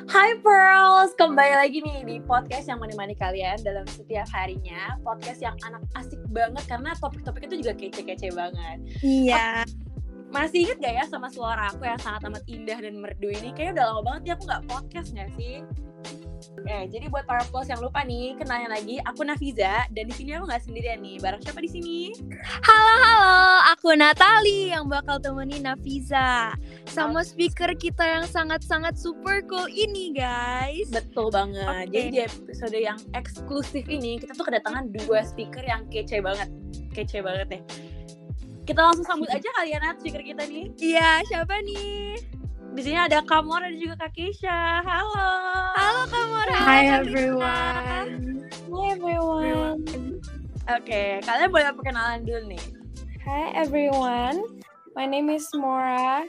Hai Pearls, kembali lagi nih di podcast yang menemani kalian dalam setiap harinya. Podcast yang anak asik banget karena topik-topik itu juga kece-kece banget. Iya. Masih inget gak ya sama suara aku yang sangat amat indah dan merdu ini? Kayaknya udah lama banget ya aku gak podcast gak sih? Jadi buat para Pearls yang lupa nih, kenalin lagi, aku Nafiza dan di sini aku nggak sendirian nih. Bareng siapa di sini? Halo, aku Natali yang bakal temenin Nafiza sama speaker kita yang sangat-sangat super cool ini, guys. Betul banget. Okay. Jadi di episode yang eksklusif ini kita tuh kedatangan 2 speaker yang kece banget deh. Kita langsung sambut aja kali ya Nat, speaker kita nih. Iya, siapa nih? Di sini ada Kak Mora dan juga Kak Keisha. Halo. Halo Kak Mora. Hi everyone. Hi everyone. Oke, kalian boleh perkenalan dulu nih. Hi everyone. My name is Mora.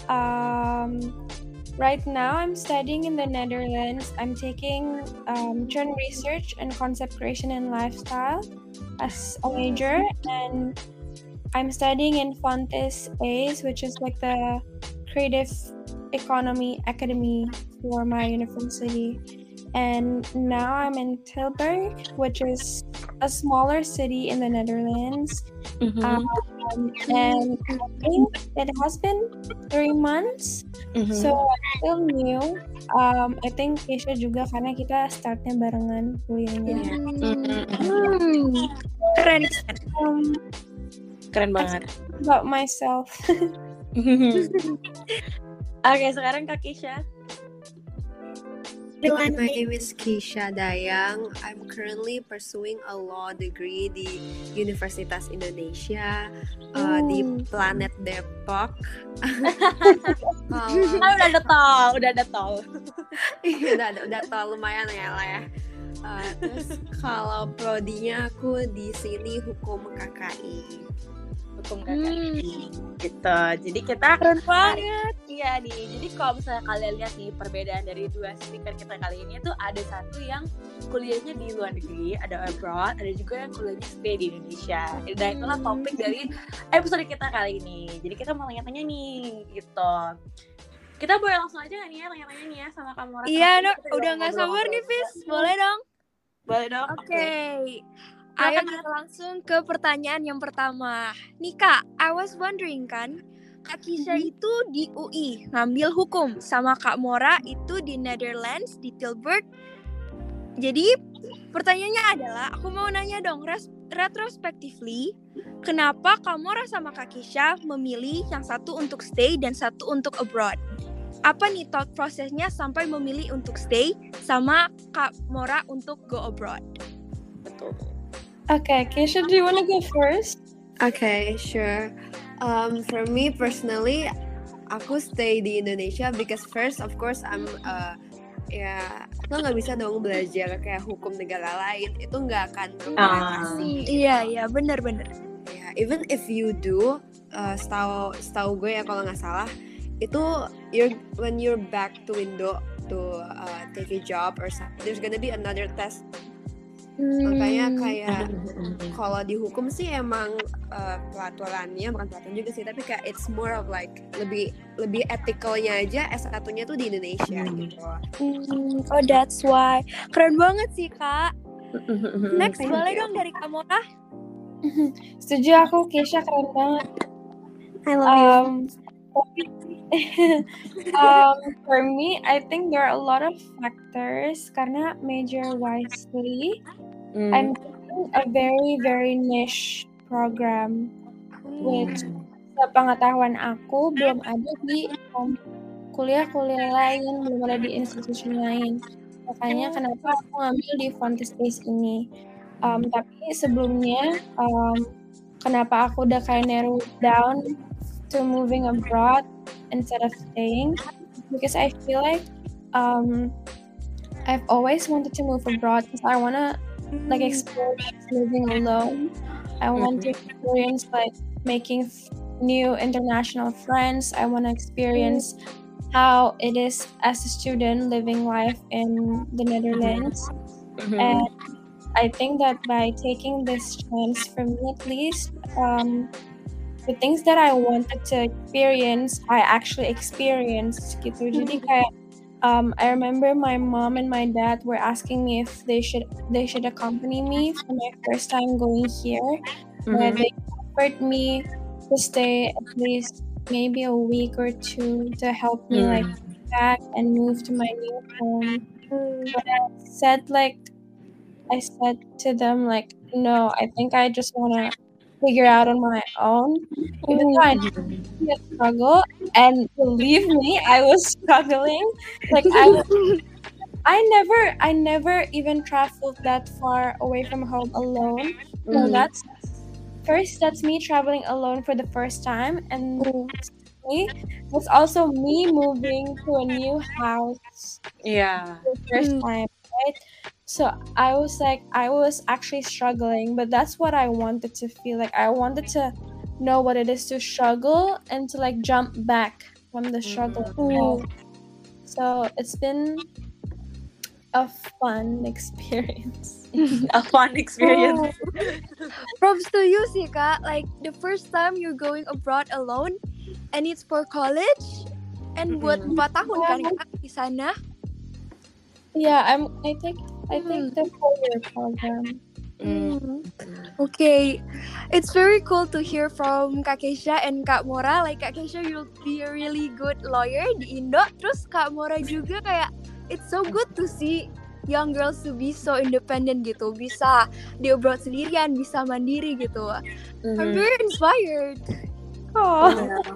Right now I'm studying in the Netherlands. I'm taking churn research and concept creation and lifestyle as a major, and I'm studying in Fontes ACE, which is like the creative economy academy for my university. And now I'm in Tilburg, which is a smaller city in the Netherlands. And I think it has been 3 months, so I'm still new. I think Keisha juga karena kita startnya barengan kuliahnya. Keren banget. About myself. Oke, sekarang Kak Keisha. My name is Keisha Dayang. I'm currently pursuing a law degree di Universitas Indonesia di Planet Depok. Udah ada tol. udah tol lumayan ya lah ya. Terus kalau prodinya aku di sini hukum KKI. Gitu. Jadi kita keren banget. Iya nih. Jadi kalau misalnya kalian lihat nih perbedaan dari 2 speaker kita kali ini tuh ada satu yang kuliahnya di luar negeri, ada abroad, ada juga yang kuliahnya stay di Indonesia. Dan itulah topik dari episode kita kali ini. Jadi kita mau tanya-tanya nih gitu. Kita boleh langsung aja gak nih ya tanya-tanya nih ya sama Kak Mora. Iya, udah gak sabar nih, Fis. Boleh dong? Boleh dong. Oke. Ayo kita langsung ke pertanyaan yang pertama. Nih Kak, I was wondering kan, Kak Keisha itu di UI ngambil hukum, sama Kak Mora itu di Netherlands, di Tilburg. Jadi pertanyaannya adalah, aku mau nanya dong, retrospectively, kenapa Kak Mora sama Kak Keisha memilih yang satu untuk stay dan satu untuk abroad? Apa nih thought prosesnya sampai memilih untuk stay sama Kak Mora untuk go abroad? Betul. Okay, Keisha, do you want to go first? Okay, sure. For me personally, aku stay di Indonesia because first, of course, I'm lo nggak bisa dong belajar kayak hukum negara lain, itu nggak akan berrelasi. Iya, benar. Yeah, even if you do, setahu gue ya kalau nggak salah, itu when you're back to Indo to take a job or something, there's gonna be another test. Makanya kayak kalau di hukum sih emang pelaturannya bukan pelaturan juga sih, tapi kayak it's more of like lebih ethicalnya aja S1-nya tuh di Indonesia gitu. Oh, that's why. Keren banget sih Kak. Next, boleh dong dari Kak Mora? Setuju aku, Keisha keren banget. I love you. For me, I think there are a lot of factors. Karena major wisely, I'm doing a very very niche program, which sepengetahuan aku belum ada di kuliah-kuliah lain, belum ada di institusi lain. Makanya kenapa aku ngambil di Fontes ACE ini. Tapi sebelumnya, kenapa aku udah kayak narrow down to moving abroad instead of staying, because I feel like I've always wanted to move abroad because I wanna like experience living alone. I want to experience like making new international friends. I want to experience how it is as a student living life in the Netherlands. And I think that by taking this chance, for me at least, the things that I wanted to experience, I actually experienced gitu. Jadi kayak I remember my mom and my dad were asking me if they should accompany me for my first time going here. Where they offered me to stay at least maybe a week or two to help me like back and move to my new home. But I said to them like, no, I think I just wanna figure out on my own. Even though I knew a struggle, and believe me, I was struggling. Like I never even traveled that far away from home alone. So that's me traveling alone for the first time, and it's also me moving to a new house Yeah. for the first time, right? So I was actually struggling, but that's what I wanted to feel like. I wanted to know what it is to struggle and to like jump back from the struggle itself. So it's been a fun experience. A fun experience. Props to you sih Kak. Like the first time you're going abroad alone, and it's for college, and buat 4 tahun kan Kak di sana. Yeah, I think the 4-year program. Okay, it's very cool to hear from Kak Keisha and Kak Mora. Like Kak Keisha, you'll be a really good lawyer di Indo. Terus Kak Mora juga kayak it's so good to see young girls to be so independent gitu, bisa di abroad sendirian, bisa mandiri gitu. I'm very inspired. Oh.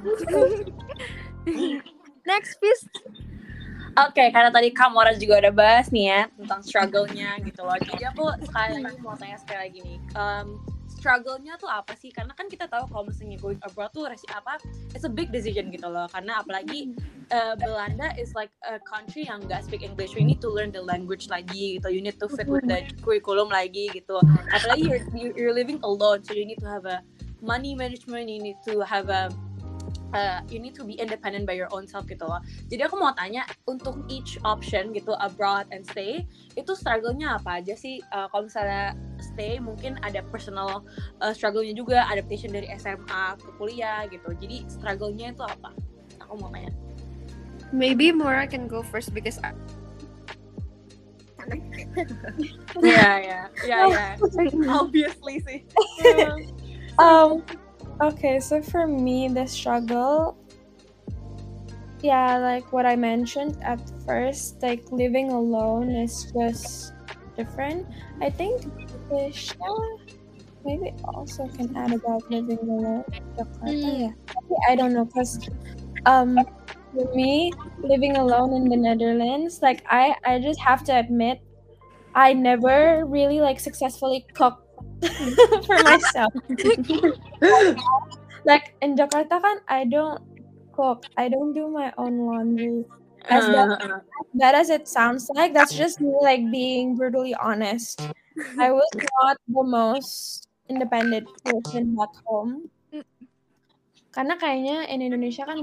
Next, please. Oke, karena tadi Kamora juga udah bahas nih ya tentang struggle-nya gitu loh. Jadi aku sekali lagi mau tanya sekali lagi nih, struggle-nya tuh apa sih? Karena kan kita tahu kalau misalnya going abroad tuh it's a big decision gitu loh. Karena apalagi Belanda is like a country yang nggak speak English. You need to learn the language lagi gitu. You need to fit with the curriculum lagi gitu. Apalagi you're living alone, so you need to have a money management. You need to have you need to be independent by your own self gitu loh. Jadi aku mau tanya untuk each option gitu, abroad and stay, itu struggle-nya apa aja sih? Kalau misalnya stay mungkin ada personal struggle-nya juga, adaptation dari SMA ke kuliah gitu. Jadi struggle-nya itu apa? Aku mau tanya. Maybe Mora can go first because yeah. Obviously sih. Okay, so for me, the struggle, yeah, like what I mentioned at first, like living alone is just different. I think Tisha maybe also can add about living alone in Jakarta. Yeah, I don't know, because for me, living alone in the Netherlands, like I just have to admit, I never really like successfully cooked for myself. Like in Jakarta kan, I don't cook. I don't do my own laundry. As bad as it sounds like, that's just me like being brutally honest. I was not the most independent person back home. Karena kayaknya in Indonesia kan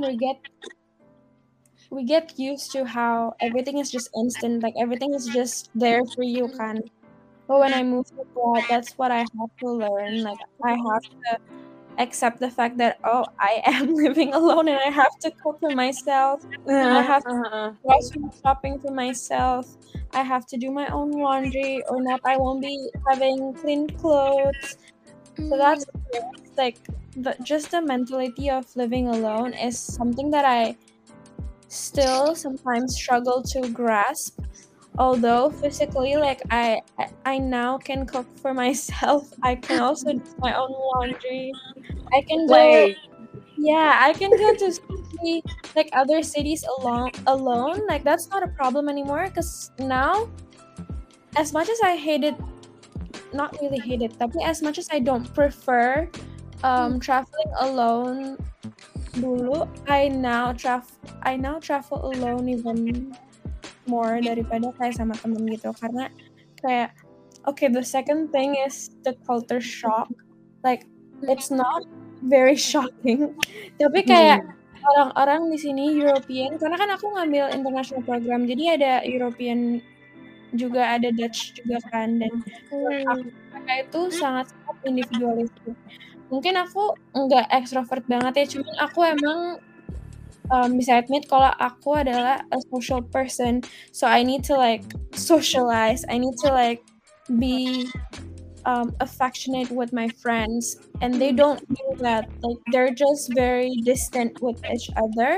we get used to how everything is just instant, like everything is just there for you kan. But when I moved abroad, that's what I have to learn. Like I have to accept the fact that I am living alone and I have to cook for myself. I have to grocery shopping for myself. I have to do my own laundry, or not I won't be having clean clothes. So that's like just the mentality of living alone is something that I still sometimes struggle to grasp. Although physically, like I now can cook for myself. I can also do my own laundry. I can go. Yeah, I can go to like other cities alone. Like that's not a problem anymore. Cause now, as much as I hate it, not really hate it, tapi as much as I don't prefer traveling alone dulu, I now travel alone even more daripada kayak sama temen gitu, karena kayak the second thing is the culture shock. Like it's not very shocking, tapi kayak orang-orang di sini European, karena kan aku ngambil international program, jadi ada European juga, ada Dutch juga kan, dan mereka itu sangat individualistik. Mungkin aku nggak ekstrovert banget ya, cuman aku emang bisa admit kalau aku adalah a social person, so I need to like socialize, I need to like be affectionate with my friends, and they don't do that. Like they're just very distant with each other,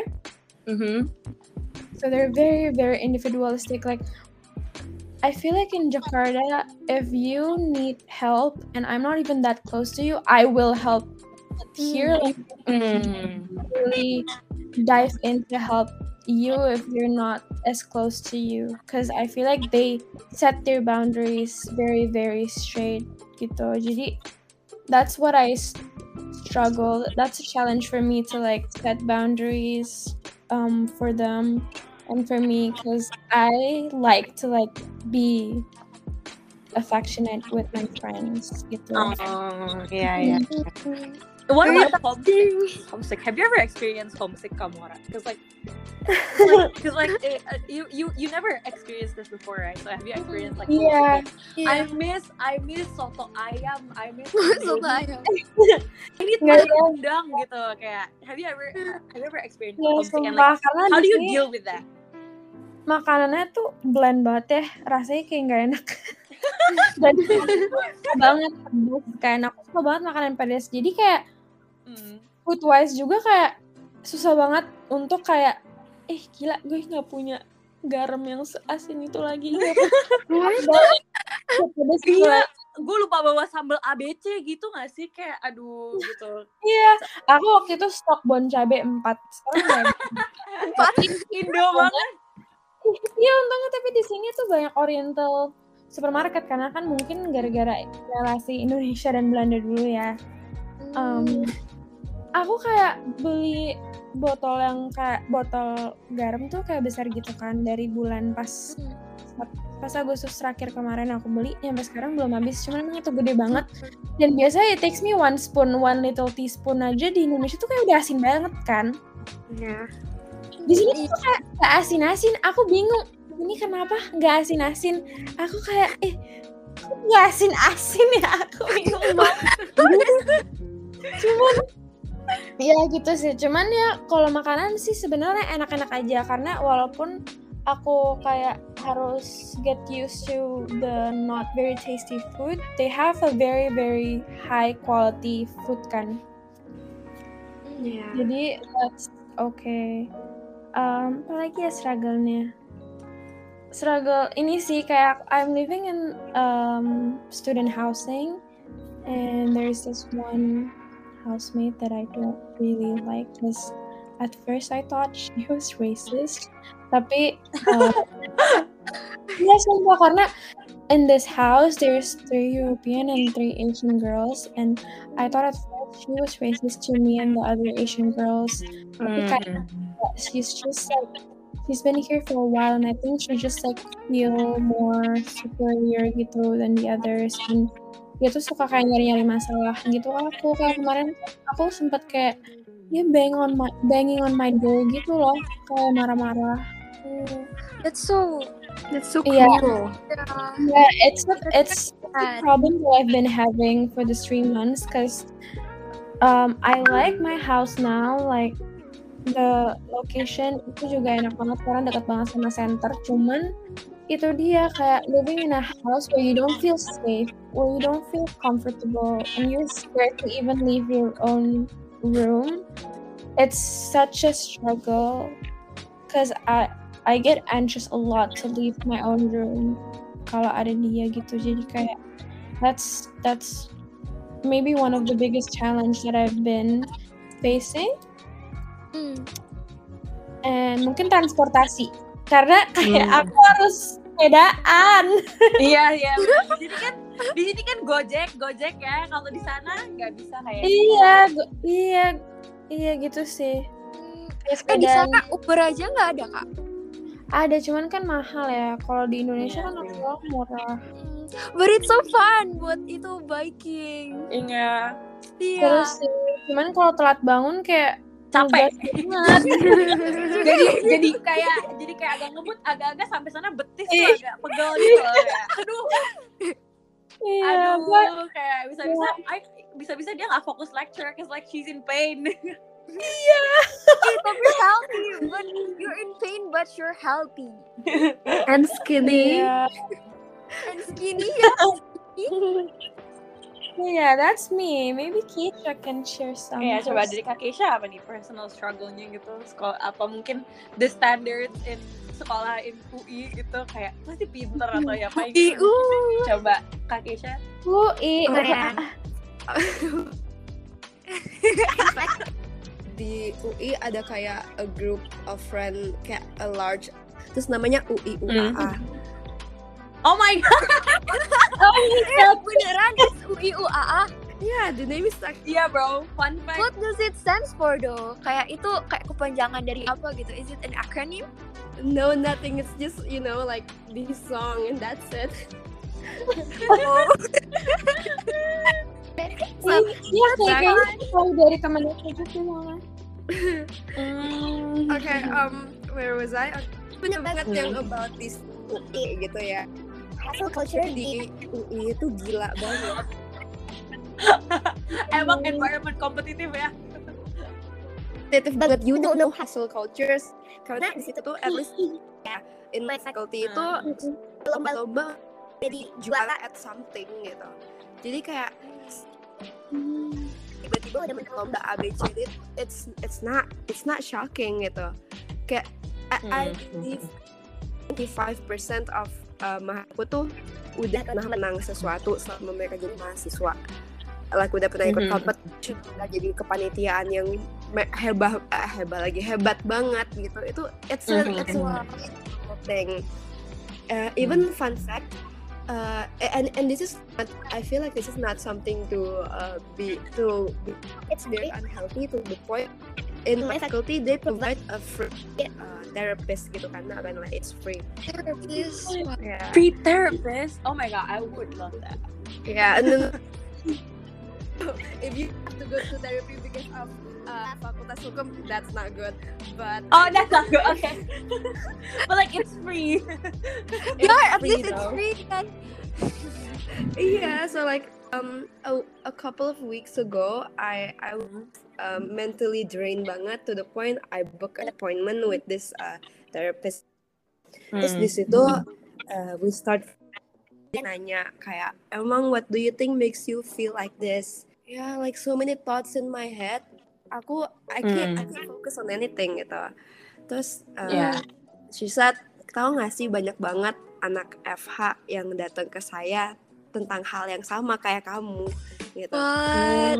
so they're very very individualistic. Like I feel like in Jakarta, if you need help and I'm not even that close to you, I will help. But here, like, really dive in to help you if you're not as close to you, because I feel like they set their boundaries very very straight gitu. Jadi that's what I struggle. That's a challenge for me to like set boundaries for them and for me, because I like to like be affectionate with my friends gitu. Yeah. What about homesick? Have you ever experienced homesick, Kamora? Because you never experienced this before, right? So have you experienced like homesick? Yeah. I miss soto ayam. I miss Soto ayam. I need rendang gitu. Kayak have you ever experienced homesick? And like, how do you deal with that? Makanannya tuh bland banget ya, rasanya kayak nggak enak. Dan banget pedes, kayak aku suka banget makanan pedas. Jadi kayak food wise juga kayak susah banget untuk kayak gila gue nggak punya garam yang seasin itu lagi. Iya, gue lupa bawa sambal ABC gitu nggak sih, kayak aduh gitu. Iya, aku waktu itu stok bon cabe 4. Sekarang 4 Indo banget. Iya, untungnya tapi di sini tuh banyak oriental supermarket, karena kan mungkin gara-gara relasi Indonesia dan Belanda dulu ya. Aku kayak beli botol yang kayak botol garam tuh kayak besar gitu kan, dari bulan pas Agustus terakhir kemarin aku beli, sampai sekarang belum habis, cuman emang itu gede banget. Dan biasanya it takes me 1 little teaspoon aja di Indonesia tuh kayak udah asin banget kan. Iya. Di sini tuh kayak gak asin-asin, aku bingung ini kenapa gak asin-asin. Aku kayak gak asin-asin ya, aku bingung banget. Cuman ya gitu sih, cuman ya kalau makanan sih sebenarnya enak-enak aja, karena walaupun aku kayak harus get used to the not very tasty food, they have a very very high quality food kan. Jadi that's okay. Apalagi ya struggle ini sih, kayak I'm living in student housing, and there's this one housemate that I don't really like, because at first I thought she was racist, tapi ya sumpah, karena in this house there's 3 European and 3 Asian girls, and I thought at first she was racist to me and the other Asian girls, tapi kayak she's just like, she's been here for a while, and I think she just like feel more superior gitu than the others, and dia tuh suka kayak nyari-nyari masalah gitu. Aku kayak kemarin aku sempet kayak dia banging on my door gitu loh, kayak marah-marah. That's so cool. Yeah, it's a problem that I've been having for the 3 months, because I like my house now, like the location itu juga enak banget karena dekat banget sama center. Cuman itu dia, kayak living in a house where you don't feel safe, where you don't feel comfortable, and you're scared to even leave your own room. It's such a struggle, because I get anxious a lot to leave my own room kalau ada dia gitu. Jadi kayak that's maybe one of the biggest challenge that I've been facing. And mungkin transportasi, karena kayak aku harus sepedaan. Iya. Di sini kan Gojek ya. Kalau di sana nggak bisa kayak. Iya gitu sih. Di sana Uber aja nggak ada kak? Ada, cuman kan mahal ya. Kalau di Indonesia kan murah. But it's so fun buat itu biking. Iya. Terus sih, cuman kalau telat bangun kayak capek jadi kayak agak ngebut, agak sampai sana betis tuh agak pegel gitu loh, kayak aduh kayak bisa dia nggak fokus lecture cause like she's in pain. Iya. you're healthy, but you're in pain, but you're healthy And skinny. Yeah. and skinny. Ya. Yeah, that's me. Maybe Keisha can share some. Ya, coba dari Kak Keisha apa nih personal struggle-nya gitu? Sekolah apa mungkin the standards in sekolah in UI gitu kayak pasti pinter atau ya apa gitu. Coba Kak Keisha. UI. Di UI ada kayak a group of friend, kayak a large, terus namanya UI UAA. Oh my god. Beneran it's UI UAA. Yeah, the name is like, Iya bro, fun fact. What does it stands for though? Kayak itu kayak kepanjangan dari apa gitu? Is it an acronym? no, nothing, it's just, you know, like this song and that's it. Iya, kayaknya tahu dari temen aku juga malah. Okay, where was I? Banyak banget yang about this UI gitu ya. Hustle culture di UI itu gila banget. Emang environment kompetitif ya. Kompetitif banget, you don't know hustle cultures. Karena di situ tuh at least ya, in my faculty itu lomba-lomba jadi juara at something gitu. Jadi kayak tiba-tiba ada menang lomba ABCD, it's not shocking gitu. Kayak I believe 25% of mahasiswa tuh udah pernah menang sesuatu selama mereka jadi mahasiswa. Like udah pernah ikut competition, udah jadi kepanitiaan yang hebat banget gitu. Itu it's a thing. Even fun fact, and this is not, I feel like this is not something to be it's very unhealthy to the point. In my faculty they provide a free therapist gitu karena kan like it's free. Therapist. Yeah. Free therapist. Oh my god, I would love that. Yeah, and then if you have to go to therapy because of fakultas hukum, that's not good. But Oh, that's not good. Okay. But like it's free. Yeah, at least it's free kan. yeah, so like a couple of weeks ago, I was mentally drained banget to the point I booked an appointment with this therapist. Terus di situ we start nanya kayak, emang what do you think makes you feel like this? Yeah, like so many thoughts in my head. I can't focus on anything gitu. Terus she said, tahu nggak sih banyak banget anak FH yang datang ke saya tentang hal yang sama kayak kamu gitu. What?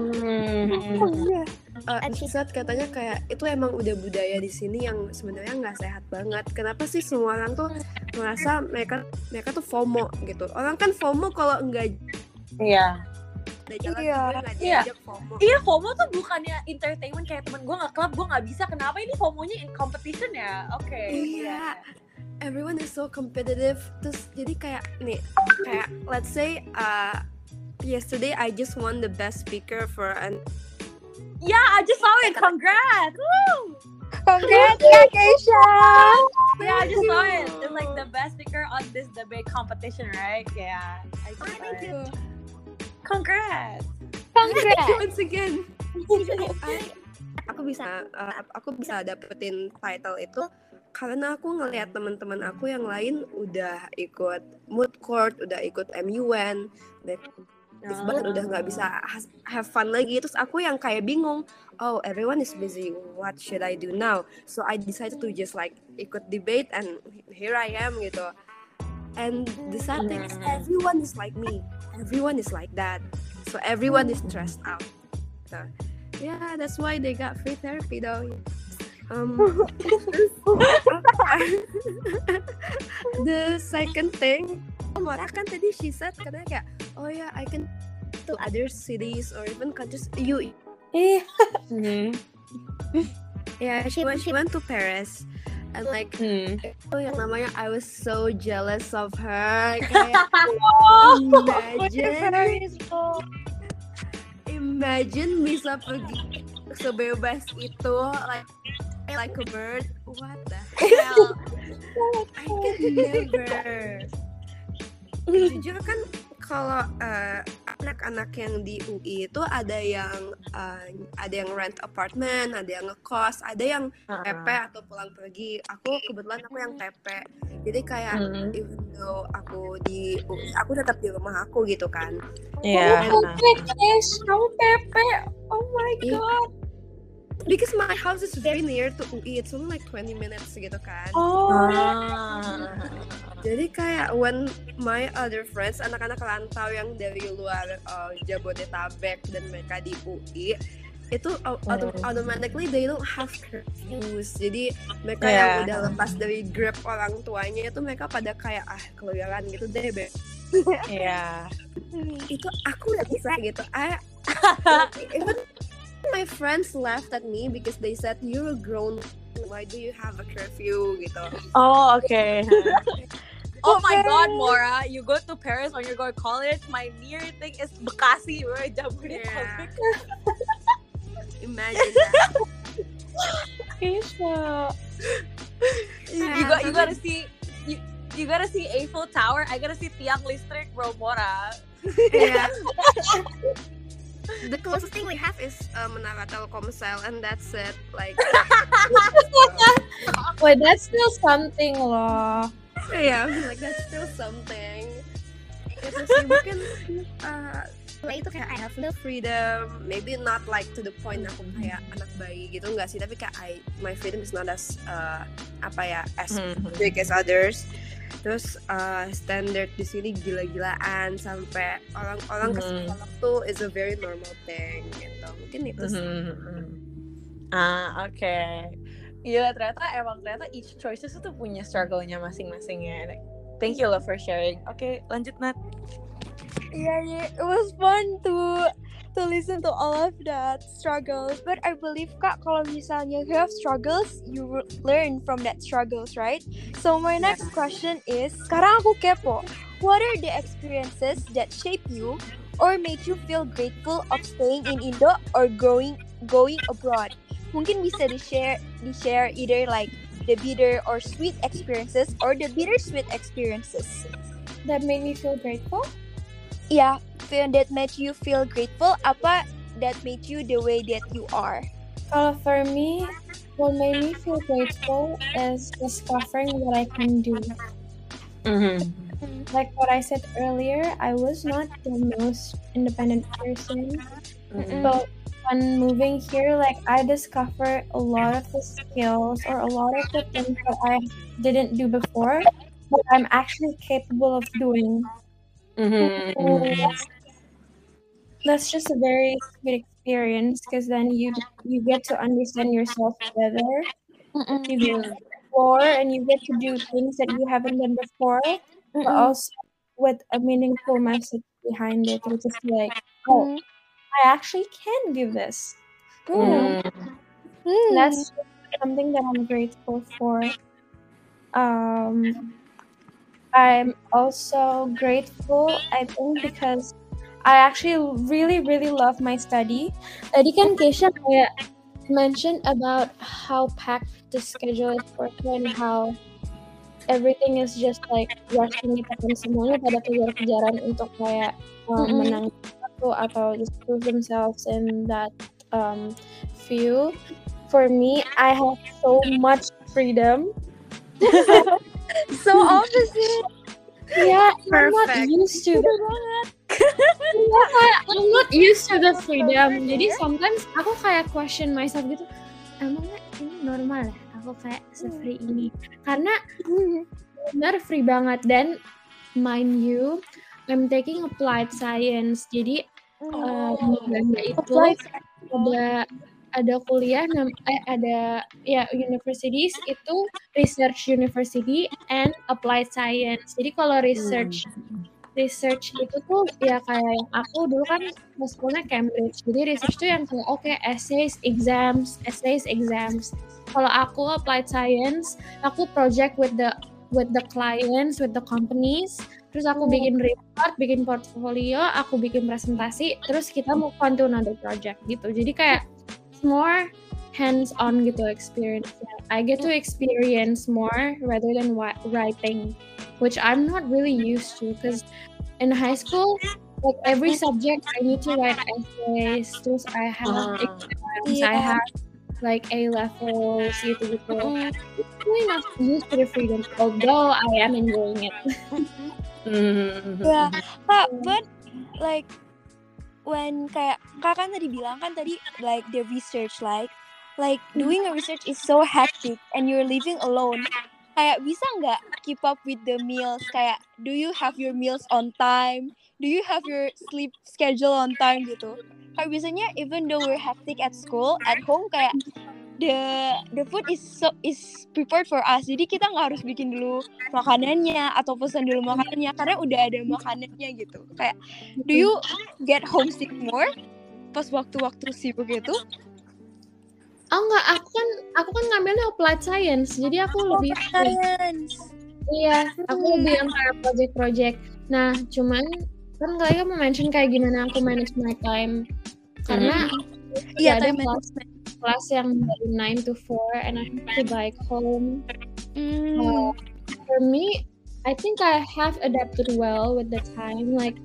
And she said katanya kayak itu emang udah budaya di sini yang sebenarnya nggak sehat banget. Kenapa sih semua orang tuh merasa mereka tuh FOMO gitu. Orang kan FOMO kalau nggak Iya. jalan nggak Iya. diajak FOMO. Iya, FOMO tuh bukannya entertainment kayak temen gue nge-club, gue nggak bisa. Kenapa ini FOMO-nya in competition ya? Oke. Iya. Everyone is so competitive. Terus jadi kayak nih, kayak let's say yesterday I just won the best speaker for an Yeah, I just saw it. Congrats. Woo! Congrats Kak Keisha. Yeah, I just saw it. It's like the best speaker on this debate competition, right? Yeah. I just saw thank it. you. Congrats. Congrats. Once again. Aku bisa dapetin title itu karena aku ngelihat teman-teman aku yang lain udah ikut mood court, udah ikut MUN, bahkan udah nggak bisa have fun lagi. Terus aku yang kayak bingung, oh everyone is busy, what should I do now? So I decided to just like ikut debate and here I am gitu. And the sad thing is everyone is like me, everyone is like that, so everyone is stressed out. So yeah, that's why they got free therapy though. The second thing, Mora kan tadi she said katanya kayak, oh yeah, I can to other cities or even countries. Yeah, she went to Paris and like itu yang namanya I was so jealous of her. Kayak imagine bisa pergi sebebas itu like a bird. What the hell? I can never. Jujur kan kalau anak-anak yang di UI itu ada yang rent apartment, ada yang ngekos, ada yang TP atau pulang pergi. Aku kebetulan aku yang TP. Jadi kayak even though aku di UI, aku tetap di rumah aku gitu kan. Iya. Kamu Pepe. Oh my god. Because my house is very near to UI, it's only like 20 minutes gitu kan. Jadi kayak when my other friends, anak-anak rantau yang dari luar Jabodetabek dan mereka di UI, itu automatically they don't have curfews. Jadi mereka yang udah lepas dari grip orang tuanya itu mereka pada kayak keluyuran gitu deh, Be. Iya. Itu aku nggak bisa gitu. Even my friends laughed at me because they said you're a grown, why do you have a curfew gitu. Oh, okay. Oh my god, Mora, you go to Paris when you go to college, my near thing is Bekasi, bro. Jabodetabek. Imagine that. Keisha. You gotta see you gotta see Eiffel Tower. I gotta see tiang listrik, bro, Mora. Yeah. The closest thing we have is Menara Telkomsel, and that's it. Like, Wait, that's still something loh. yeah, like that's still something. Itu sih mungkin itu kayak I have the freedom, maybe not like to the point aku kayak anak bayi gitu, enggak sih, tapi kayak my freedom is not as as big as others. Terus standard di sini gila-gilaan sampai orang-orang ke psikolog tuh is a very normal thing gitu. Mungkin itu sih. Oke. Iya, ternyata each choices itu punya struggle-nya masing-masing ya. Thank you for sharing. Oke, lanjut Nat. Yeah, it was fun to listen to all of that struggles. But I believe Kak, kalau misalnya you have struggles, you will learn from that struggles, right? So my next question is, sekarang aku kepo. What are the experiences that shape you or made you feel grateful of staying in Indo or going abroad? Mungkin bisa di-share either like the bitter or sweet experiences or the bittersweet experiences. That made me feel grateful? Yeah, that made you feel grateful, apa that made you the way that you are? For me, what made me feel grateful is discovering what I can do. Like what I said earlier, I was not the most independent person, but when moving here, like I discovered a lot of the skills or a lot of the things that I didn't do before, but I'm actually capable of doing. That's just a very sweet experience because then you get to understand yourself better. You get to explore and you get to do things that you haven't done before, but also with a meaningful message behind it, which is like, oh, I actually can do this. That's something that I'm grateful for. I'm also grateful, I think, because I actually really, really love my study. Tadi kan Keisha kayak mentioned about how packed the schedule is for her and how everything is just like rushing kita kan semuanya pada kejar-kejaran untuk kayak menang satu atau just prove themselves in that field. For me, I have so much freedom. So opposite. Yeah, I'm not used to that. I'm not used to the freedom. Jadi sometimes aku kayak question myself gitu. Emangnya ini normal ya? Aku kayak se-free ini. Karena benar free banget. Dan mind you, I'm taking applied science. Jadi itu ada kuliah universities itu research university and applied science. Jadi kalau research itu tuh ya kayak yang aku dulu kan sekolahnya Cambridge. Jadi research tuh yang kayak essays, exams. Kalau aku applied science, aku project with the clients, with the companies. Terus aku bikin report, bikin portfolio, aku bikin presentasi, terus kita move on to another project gitu. Jadi kayak more hands-on gitu experience. I get to experience more rather than writing, which I'm not really used to because in high school like every subject I need to write essays. Terus I have exams, I have like A levels gitu. It's really not used to the freedom, although I am enjoying it. Yeah, Kak, but like when kayak Kak kan tadi bilang kan tadi like the research like doing a research is so hectic and you're living alone. Kayak bisa nggak keep up with the meals? Kayak do you have your meals on time? Do you have your sleep schedule on time gitu? Kayak biasanya even though we're hectic at school, at home kayak the food is prepared for us. Jadi kita nggak harus bikin dulu makanannya atau pesan dulu makanannya karena udah ada makanannya gitu. Kayak do you get homesick more pas waktu-waktu sibuk itu? Oh enggak, aku kan ngambilnya applied science, jadi aku lebih Science. Iya, aku lebih yang kayak project-project. Nah, cuman kan kalian mau mention kayak gimana aku manage my time karena Iya, ada time management. kelas yang dari 9 to 4 and I have to bike home. For me, I think I have adapted well with the time. Like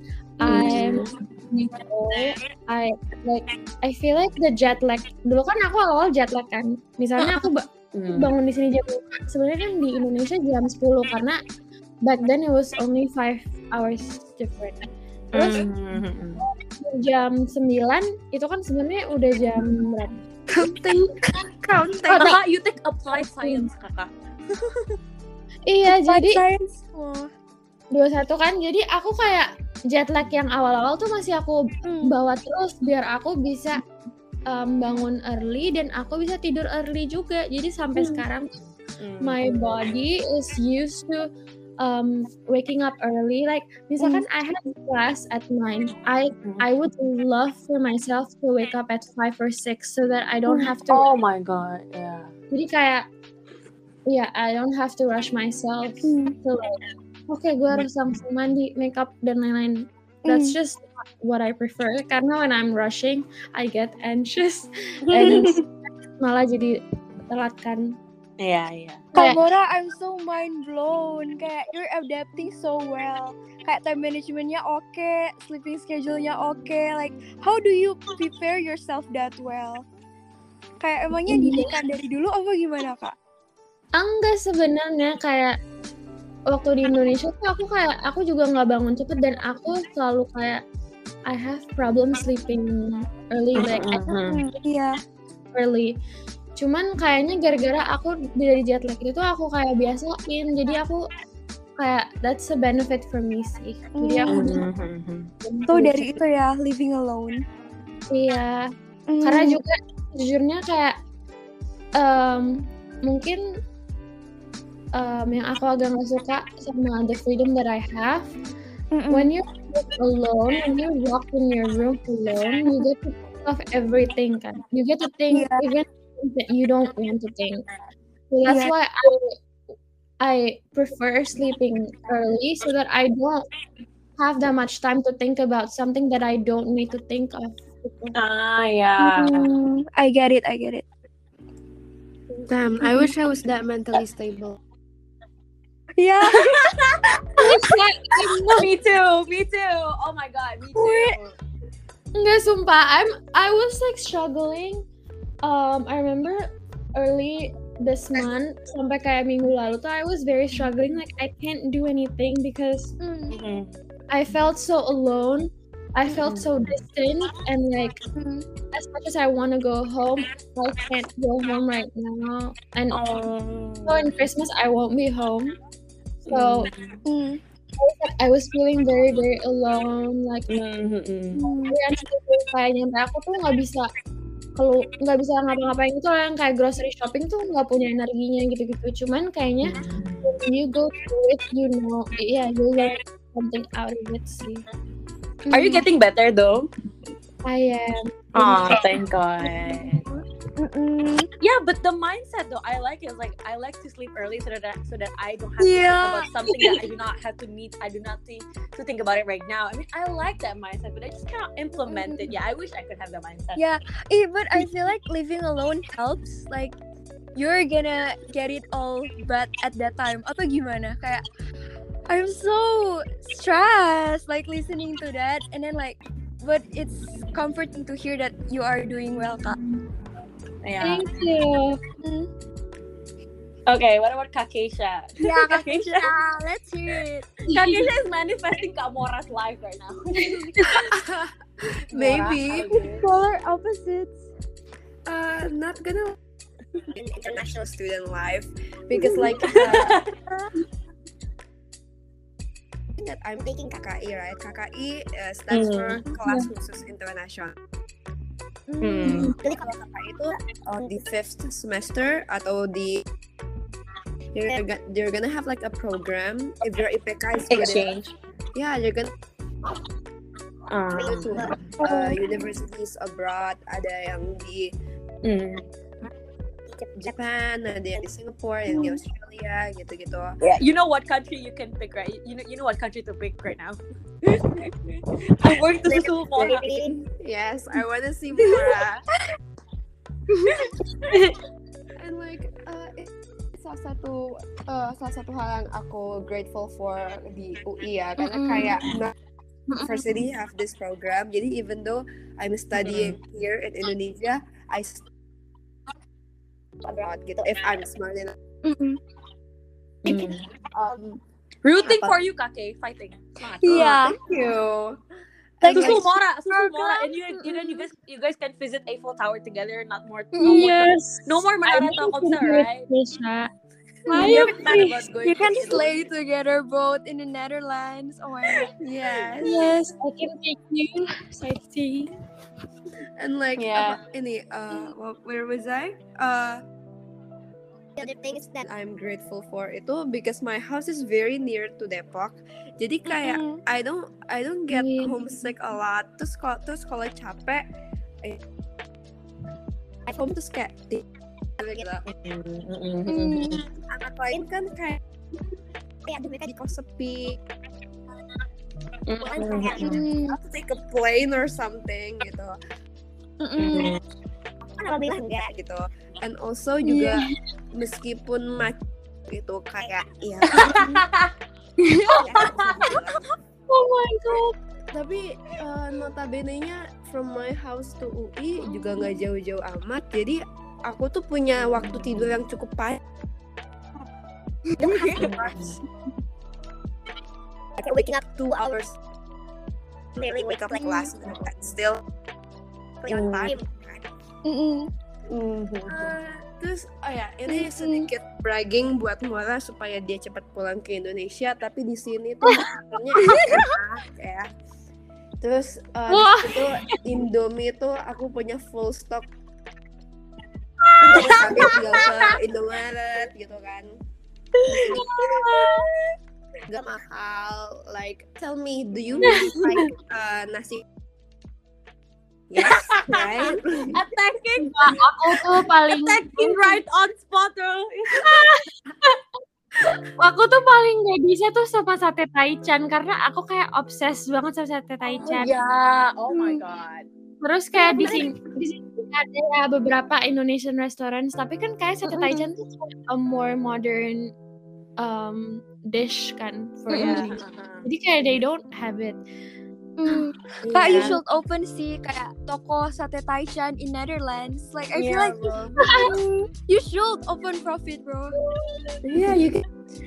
I feel like the jet lag. Dulu kan aku awal jet lag kan. Misalnya aku bangun di sini jam 5. Sebenarnya kan di Indonesia jam 10 karena back then it was only 5 hours different. Terus jam 9 itu kan sebenarnya udah jam berapa? Counting. Kakak, you take applied science, kakak. Iya, jadi Science. 21 kan. Jadi aku kayak jet lag yang awal-awal tuh masih aku bawa terus biar aku bisa bangun early dan aku bisa tidur early juga. Jadi sampai sekarang my body is used to waking up early. Like misalkan I have class at 9, I would love for myself to wake up at 5 or 6 so that I don't have to. Oh my god, yeah. Jadi kayak I don't have to rush myself. So like, okay, gue harus langsung mandi, makeup dan lain-lain. That's just what I prefer. Karena when I'm rushing, I get anxious and malah jadi telat kan. Iya. Kak Mora, I'm so mind blown. Kayak you're adapting so well. Kayak time managementnya oke, sleeping schedule-nya oke. Like how do you prepare yourself that well? Kayak emangnya didikan dari dulu apa gimana, Kak? Enggak, sebenarnya kayak waktu di Indonesia tuh aku juga nggak bangun cepet dan aku selalu kayak I have problem sleeping early, like early. Cuman kayaknya gara-gara aku dari jet lag itu aku kayak biasain, jadi aku kayak that's a benefit for me sih. Jadi aku Tuh dari itu ya, living alone. Iya, karena juga jujurnya kayak mungkin yang aku agak nggak suka sama the freedom that I have. When you're alone, when you walk in your room alone, you get to think of everything kan. You get to think even things that you don't want to think. So that's why I prefer sleeping early so that I don't have that much time to think about something that I don't need to think of. Yeah. I get it. Damn, I wish I was that mentally stable. Yeah. Me too. Oh my god, me too. Enggak, sumpah. I was like struggling. I remember early this month sampai kayak minggu lalu tuh I was very struggling. Like I can't do anything because I felt so alone. I felt so distant and like as much as I want to go home, I can't go home right now. And so in Christmas I won't be home. So I was feeling very very alone. Like kayaknya aku tuh nggak bisa ngapa-ngapain itu yang kayak grocery shopping tuh nggak punya energinya gitu-gitu. Cuman kayaknya when you go through it, you know, you learn something out of it sih. Are you getting better though? I am. Oh, thank God. Yeah, but the mindset though, I like it. Like I like to sleep early so that I don't have to think about something that I do not have to meet. I do not think to think about it right now. I mean, I like that mindset, but I just cannot implement it. Yeah, I wish I could have that mindset. Yeah, but I feel like living alone helps. Like you're gonna get it all bad at that time. Atau gimana? Kayak I'm so stressed like listening to that, and then like, but it's comforting to hear that you are doing well, Kak. Yeah. Thank you. Okay, what about Kakesha? Yeah, Kakesha, let's hear it. Kakesha is manifesting Kak Mora's life right now. Maybe. Polar opposites. Not gonna in international student life because like that I'm taking KKI, right? KKI stands for Kelas Khusus Internasional. Jadi kalau KKI itu on the 5th semester atau di you're gonna have like a program if your IPK is good Exchange. enough. Yeah, you're gonna go to universities abroad. Ada yang di Japan, ada yang di Singapore, yang di Australia, gitu-gitu. Yeah, you know what country you can pick, right? You know what country to pick right now. I'm going to Susul Mora. Yes, I want to see Mora. And like it's salah satu hal yang aku grateful for di UI ya, karena kayak university have this program. Jadi even though I'm studying here in Indonesia, I abroad gitu if I'm smart enough. Rooting for you, Kake, fighting. Semangat. Yeah. Thank you. Susul Mora, and you guys can visit Eiffel Tower together. Yes. No more Menara Telkomsel, right? You can slay together both in the Netherlands. Oh my god. Yes. Yes, I can take you sightseeing. And like Yeah. where was I? The other things that I'm grateful for itu because my house is very near to Depok. Jadi kayak I don't get homesick a lot. Terus kalau capek at home terus kayak gitu. Anak lain kan kayak mereka di kos sepi. Have to take a plane or something gitu. Alhamdulillah enggak gitu. And also juga meskipun itu kayak ya. Oh my god. Tapi notabene-nya from my house to UI juga nggak jauh-jauh amat. Jadi aku tuh punya waktu tidur yang cukup panjang. Like waking up 2 hours. Really wake up like last minute and still on time. Terus ini sedikit bragging buat Mora supaya dia cepat pulang ke Indonesia, tapi di sini tuh makannya enak ya. Terus itu Indomie tuh aku punya full stock. Sampai tinggal ke Indomaret gitu kan. Gak mahal. Like tell me, do you like nasi? Yes, right? Attacking Aku tuh paling right on spot, bro. Aku tuh paling gak bisa tuh sama sate taichan karena aku kayak obses banget sama sate taichan. Oh my god. Terus kayak di sini ada beberapa Indonesian restaurants, tapi kan kayak sate taichan tuh a more modern dish kan for Indonesia. Jadi kayak they don't have it. Kak, you should open sih kayak toko sate taichan in Netherlands. Like I feel like you should open profit, bro. Yeah, you can.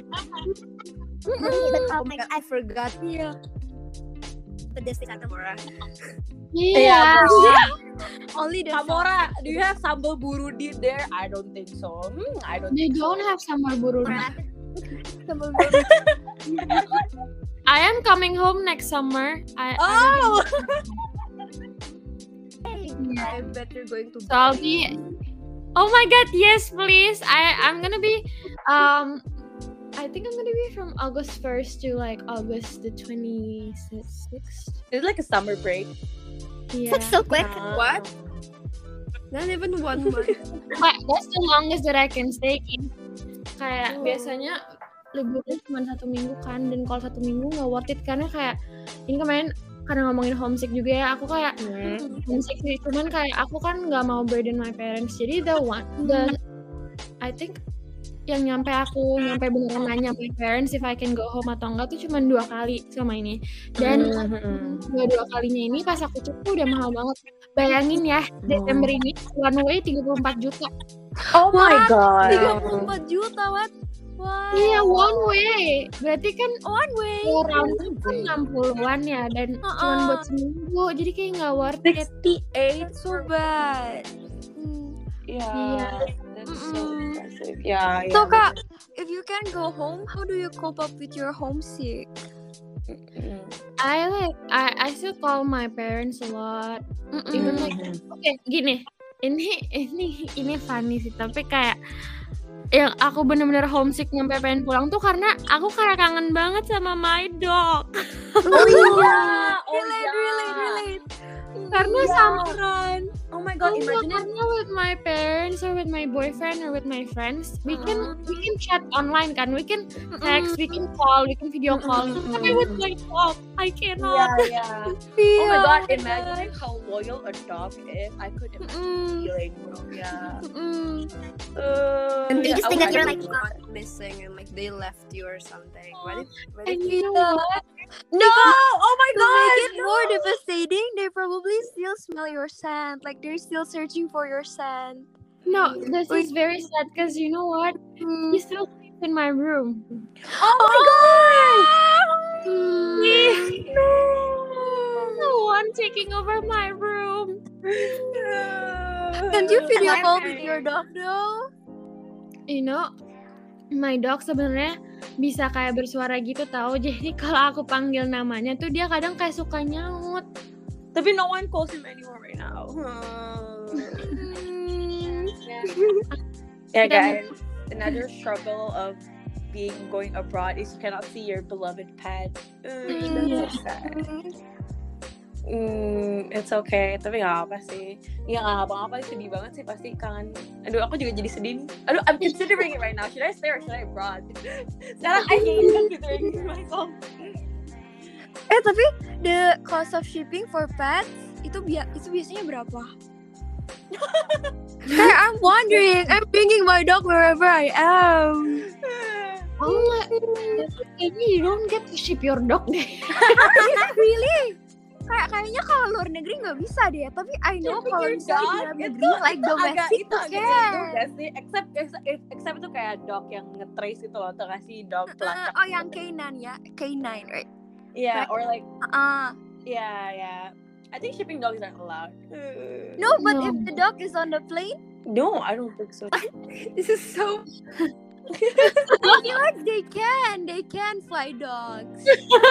Oh my god, I forgot. Yeah. Pedas Santa Mora. Iya. Only the Kamora, do you have sambal burudi there? I don't think so. They don't have sambal burudi. sambal I am coming home next summer. Oh! I bet you're going to. So I'll be. Oh my god, yes, please. I'm gonna be. I think I'm gonna be from August 1st to like August the 26th. It's like a summer break. Yeah. That's so quick. What? Not even 1 month. But that's the longest that I can stay in. Kayak biasanya liburnya cuma 1 minggu kan, dan kalau 1 minggu nggak worth it karena kayak ini kemarin karena ngomongin homesick juga ya, aku kayak homesick sih, cuman kayak aku kan nggak mau burden my parents, jadi I think yang nyampe beneran nanya my parents if I can go home atau enggak tuh cuma 2 kali selama ini. Dan dua kalinya ini pas aku cek tuh udah mahal banget. Bayangin ya, Desember ini one way 34 juta. Oh my god. 34 juta, what? Wow. Iya, one way. Berarti kan One way. round trip kan 60-an ya dan cuma buat seminggu. Jadi kayak nggak worth it. 68 So bad. Yeah. That's so expensive. Yeah. So Kak, if you can go home, how do you cope up with your homesick? I still call my parents a lot. Even like okay, gini. Ini funny sih, tapi kayak yang aku bener-bener homesick nyampe pengen pulang tuh karena aku kayak kangen banget sama my dog. Oh iya. Really. Karena sama Oh my god, imagine it. karena with my parents or with my boyfriend or with my friends, we can chat online kan, we can text, we can call, we can video call. Tapi with my dog, I cannot. Yeah. Oh my god, imagine how loyal a dog is. I could imagine feeling, bro. Yeah. And they just think that you're like missing and like they left you or something. And you know what? No! Oh my To god. make it more devastating, they probably still smell your scent. Like they're still searching for your scent. No, this is very sad because you know what? He still sleeps in my room. Oh my god. No one taking over my room. Can you video call with your dog though? You know, my dog sebenarnya bisa kayak bersuara gitu tahu. Jadi kalau aku panggil namanya tuh dia kadang kayak suka nyaut. Tapi no one calls him anymore right now. Yeah, guys. Another struggle of going abroad is you cannot see your beloved pet. That's so sad. It's okay, tapi nggak apa sih. Ya nggak apa-apa, sedih banget sih pasti kangen. Aduh, aku juga jadi sedih nih. Aduh, I'm considering it right now. Should I stay or should I abroad? Sekarang I hate considering myself. Tapi the cost of shipping for pets itu biasanya berapa? Kayak I'm wondering, I'm bringing my dog wherever I am. Oh, kayaknya you don't get to ship your dog deh. Really? Kayaknya kalau luar negeri nggak bisa deh. Tapi I know kalau misalnya di dalam negeri, like domestic itu tuh agak can. juga sih. Except itu kayak dog yang nge-trace itu loh, tuh kasih dog pelacak. Oh, yang canine ya, canine, right? Yeah, or like Uh, yeah. I think shipping dogs aren't allowed. no, but No. if the dog is on the plane, No, I don't think so. This is so. I feel like they can fly dogs.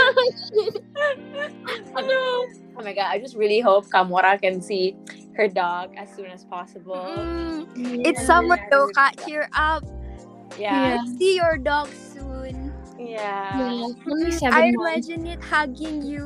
Oh my god, I just really hope Kamora can see her dog as soon as possible. It's summer though, Kak. Cheer up. Yeah. See your dog soon. Yeah. Only 7 I months. imagine it hugging you,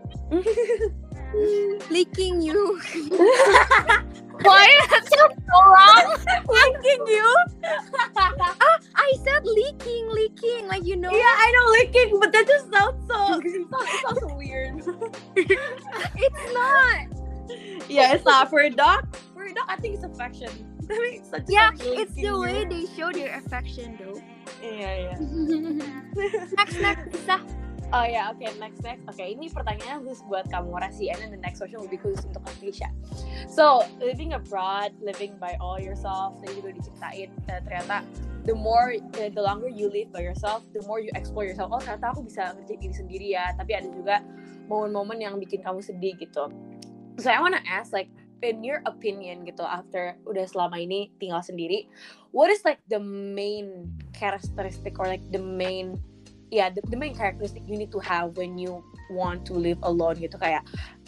licking you. Why? That's so wrong. Licking you? I said licking, like you know. Yeah, I know licking, but that just sounds so weird. It's not. Yeah, it's not for a dog. For a dog, I think it's affection. I mean, it's Yeah, it's the way they show their affection though. Yeah. Next, Lisa. Oh ya, oke, next. Oke, ini pertanyaannya khusus buat kamu Rasi, and then the next question will be khusus untuk Akeisha. So, living abroad, living by all yourself, tadi juga diceritain ternyata the longer you live by yourself, the more you explore yourself. Oh, ternyata aku bisa ngerjain diri sendiri ya. Tapi ada juga momen-momen yang bikin kamu sedih gitu. So, I wanna ask, like, in your opinion gitu, after udah selama ini tinggal sendiri, what is like the main characteristic or like the main characteristic you need to have when you want to live alone gitu, kayak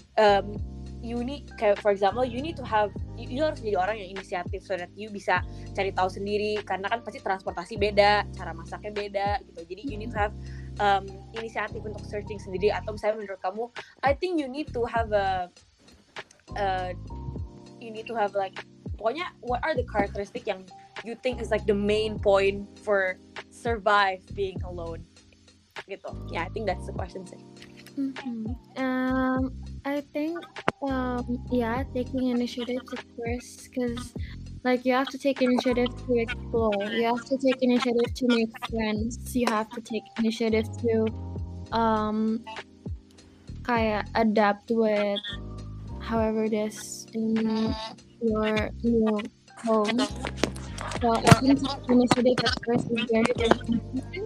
for example you need to have, you harus jadi orang yang inisiatif so that you bisa cari tahu sendiri, karena kan pasti transportasi beda, cara masaknya beda gitu, jadi you need to have inisiatif untuk searching sendiri. Atau misalnya menurut kamu, I think you need to have like, pokoknya what are the characteristic yang you think is like the main point for survive being alone gitu. Yeah, I think that's the question sih. I think taking initiative at first, because Like, you have to take initiative to explore. You have to take initiative to make friends. You have to take initiative to kayak adapt with however it is in your new home. So I think initiative at first is very important.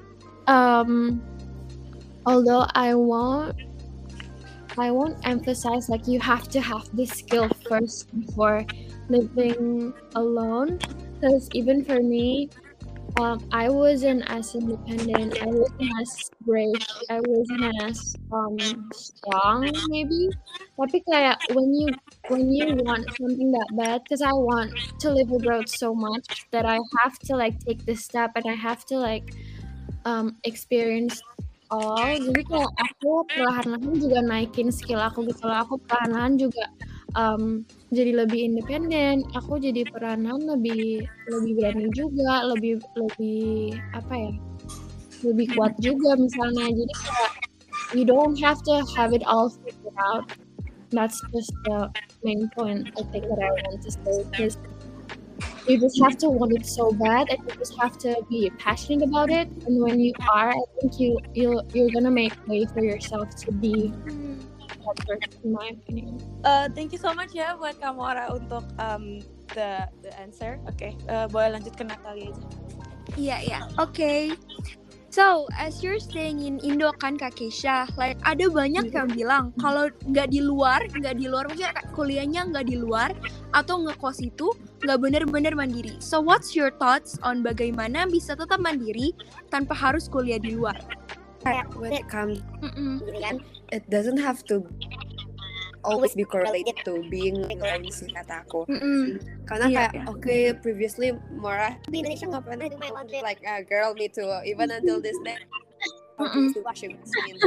Although I won't emphasize like you have to have this skill first before living alone, because even for me, I wasn't as independent, I wasn't as brave, I wasn't as strong maybe. Tapi kayak when you want something that bad, because I want to live abroad so much that I have to like take this step and I have to like experience all. Jadi kayak aku perlahan-lahan juga naikin skill aku gitu loh. Aku perlahan-lahan juga jadi lebih independen. Aku jadi perlahan-lahan lebih berani juga, lebih apa ya? Lebih kuat juga misalnya. Jadi kayak you don't have to have it all figured out. That's just the main point I think that I want to say, because you just have to want it so bad, and you just have to be passionate about it. And when you are, I think you're gonna make way for yourself to be that person, in my opinion. Thank you so much ya buat Kamora untuk the answer. Oke, boleh lanjut ke Natalia aja. Iya. Okay. So, as you're staying in Indo kan Kak Keisha, like ada banyak yang bilang kalau nggak di luar, maksudnya kuliahnya nggak di luar atau ngekos itu nggak bener-bener mandiri. So, what's your thoughts on bagaimana bisa tetap mandiri tanpa harus kuliah di luar? When it comes, it doesn't have to always be correlated to being alone sih kata aku. Karena kayak previously Mora di Indonesia nggak pernah do my laundry, like girl me too, even until this day washing machine.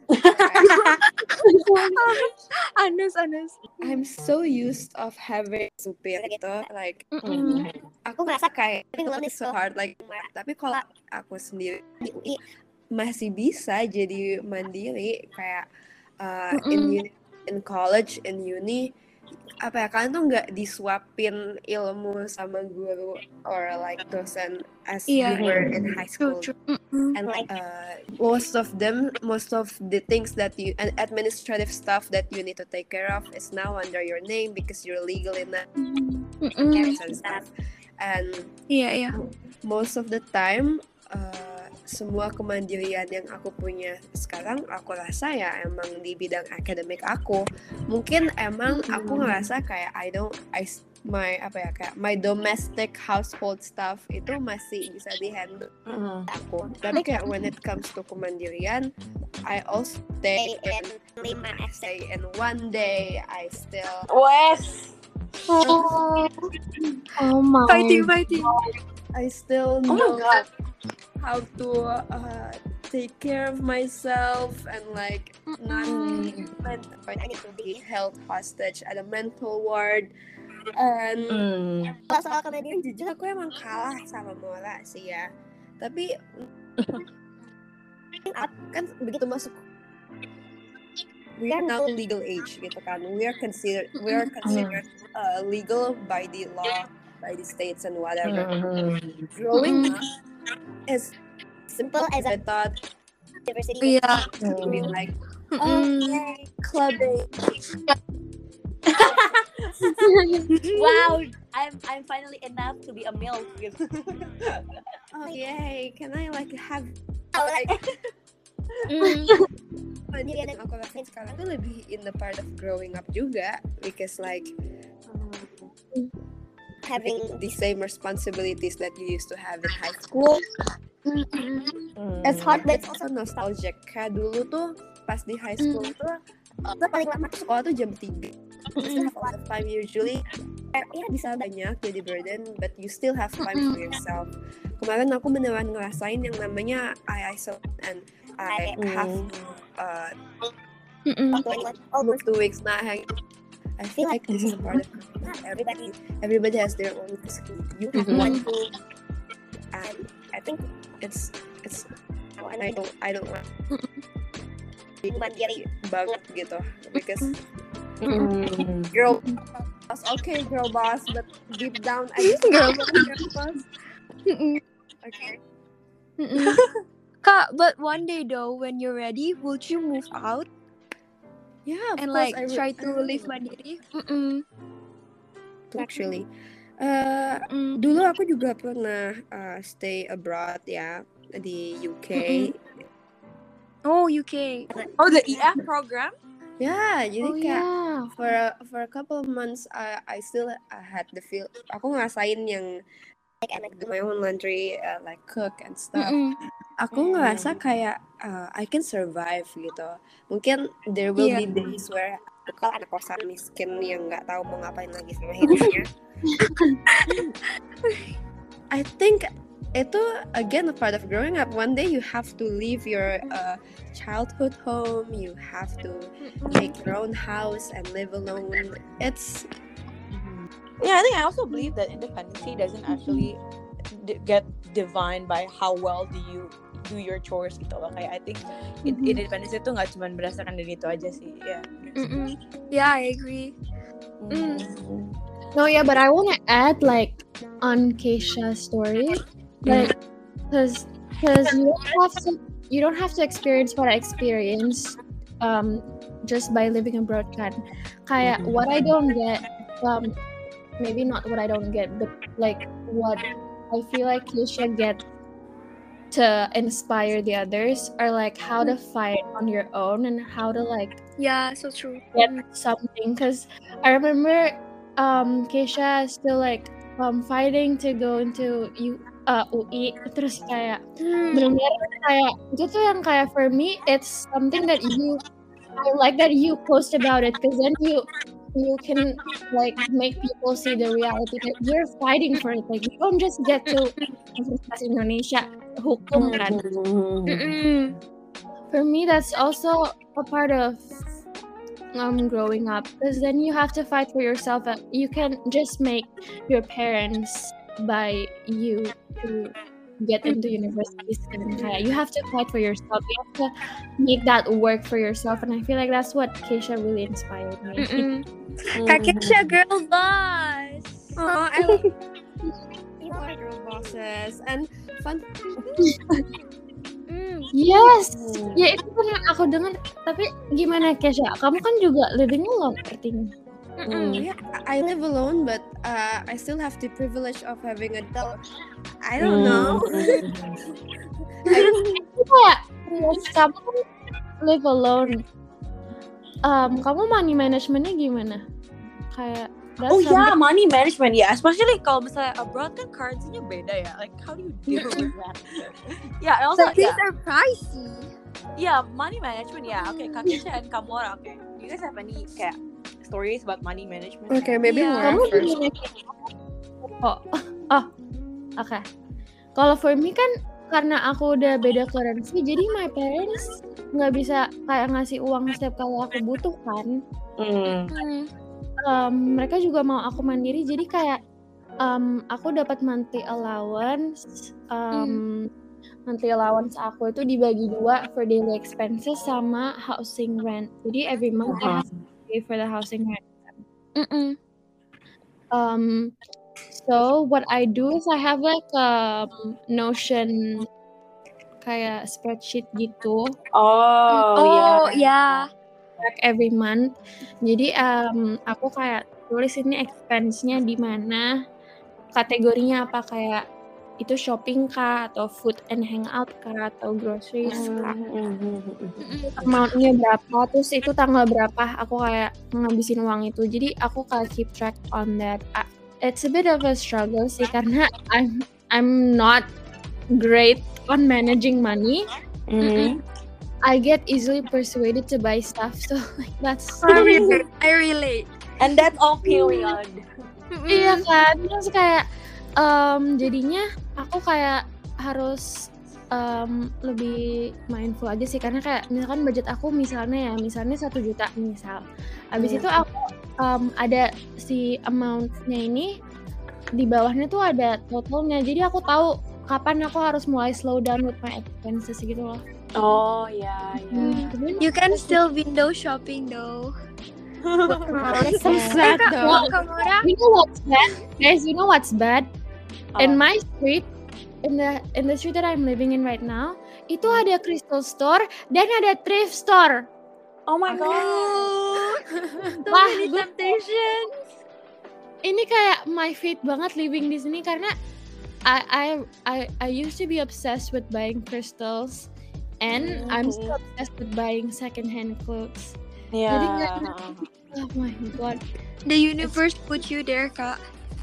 Anes. I'm so used of having supir gitu, like aku ngerasa kayak living alone is so hard, like tapi kalau aku sendiri di UI masih bisa jadi mandiri kayak in college, in uni, apa ya, kalian tuh nggak disuapin ilmu sama guru or like dosen as you were in high school. And like most of the things that you and administrative stuff that you need to take care of is now under your name because you're legal in that and stuff. And most of the time semua kemandirian yang aku punya sekarang aku rasa ya emang di bidang akademik aku. Mungkin emang aku ngerasa kayak my domestic household stuff itu masih bisa dihandle aku. Tapi kayak when it comes to kemandirian, I also stay in 5 essay in one day. I still Oh my fighting. I still know how to take care of myself and like not I need to be held hostage at a mental ward. And soal kemandirian jujur aku emang kalah sama Mora sih ya. Tapi kan begitu masuk, we are now legal age gitu kan. We are considered legal by the law, by the states and whatever. Growing up as simple as I thought university to be like clubbing. Wow, I'm finally enough to be a MILF gitu. Oh yay, can I like have like yang aku rasain sekarang tuh lebih in the part of growing up juga, because like having the same responsibilities that you used to have in high school. It's hard, but it's also nostalgic. Kayak dulu tuh pas di high school tuh kita paling lama ke sekolah tuh jam 3. You have a lot of time usually. Ya bisa banyak jadi burden, but you still have time for yourself. Kemarin aku beneran ngerasain yang namanya I isolate, and I have almost 2 weeks not hanging. I feel like this is part of everybody has their own risk. You have one thing, and I think it's I don't want mandiri banget gitu, because girl Okay, girl boss, but deep down I just girl boss. Okay. Kak, but one day though, when you're ready, would you move out Yeah, of and course, like try to live mandiri? Actually, dulu aku juga pernah stay abroad ya di UK. Oh, UK. Oh, the EF program? Ya, jadi Oh kayak yeah. for a couple of months I still had the feel. Aku ngerasain yang like do my own laundry, like cook and stuff. Aku ngerasa kayak I can survive gitu. Mungkin there will be days where aku anak kosan miskin yang nggak tahu mau ngapain lagi sama hidupnya. I think itu again a part of growing up. One day you have to leave your childhood home. You have to make your own house and live alone. It's Yeah, I think I also believe that independency doesn't actually get defined by how well do you do your chores gitu loh. Kayak I think independence itu nggak cuma berdasarkan dari itu aja sih. Yeah, I agree. No, yeah, but I want to add like on Keisha's story, like because you don't have to experience what I experienced just by living abroad kan. Kayak what I don't get, maybe not what I don't get, but like what I feel like Keisha get to inspire the others are like how to fight on your own and how to like Yeah, so true. get something. Because I remember Keisha still like fighting to go into UI, terus kayak benar-benar kayak itu tuh yang kayak for me it's something that I like that you post about it, because then you can like make people see the reality that you're fighting for it. Like you don't just get to Universitas Indonesia hukum kan. For me that's also a part of growing up, because then you have to fight for yourself. You can just make your parents buy you to get into universities, and you have to fight for yourself. You have to make that work for yourself, and I feel like that's what Keisha really inspired me. Kak Keisha, girl boss. Oh, I love you are girl bosses and fun. Yes, ya itu kan yang aku dengar. Tapi gimana Keisha? Kamu kan juga living alone artinya. Yeah, I live alone, but I still have the privilege of having a dog. I don't know. Kayak kamu kan live alone. Kamu money managementnya gimana? Kayak money management ya, especially kalau misalnya abroad kan currency-nya beda ya. Like how do you deal with that? Yeah, and also Things are pricey. Yeah, money management ya. Okay, Kak Keisha and Kamora. Okay, do you guys have any kayak stories about money management? Okay, maybe more kamu first. Oke. Kalau for me kan karena aku udah beda currency, jadi my parents nggak bisa kayak ngasih uang setiap kali aku butuh kan. Mereka juga mau aku mandiri, jadi kayak aku dapat monthly allowance. Monthly allowance aku itu dibagi 2 for daily expenses sama housing rent. Jadi every month I have to pay for the housing rent. So what I do is I have like a Notion kayak spreadsheet gitu. Yeah. Like every month. Jadi aku kayak tulis ini expense-nya di mana, kategorinya apa, kayak itu shopping kah atau food and hangout kah atau groceries kah. Amount-nya berapa, terus itu tanggal berapa aku kayak ngabisin uang itu. Jadi aku kayak keep track on that. It's a bit of a struggle sih karena I'm not great on managing money. I get easily persuaded to buy stuff, so like that's I relate. And that's all period. Iya kan, terus kayak jadinya aku kayak harus lebih mindful aja sih, karena kayak misalkan budget aku misalnya 1 juta misal, abis itu aku ada si amount-nya ini di bawahnya tuh ada totalnya, jadi aku tahu kapan aku harus mulai slow down with my expenses gitu loh. Oh yeah. You can still window shopping though. So sad though. Kamora, You know what's bad, guys? You know what's bad? In my street, in the street that I'm living in right now, itu ada crystal store dan ada thrift store. Oh my god. so Wah, many gue- temptations. Ini kayak my fate banget living di sini karena I used to be obsessed with buying crystals and I'm still obsessed with buying secondhand clothes. Jadi Yeah. oh my god. The universe put you there, Kak.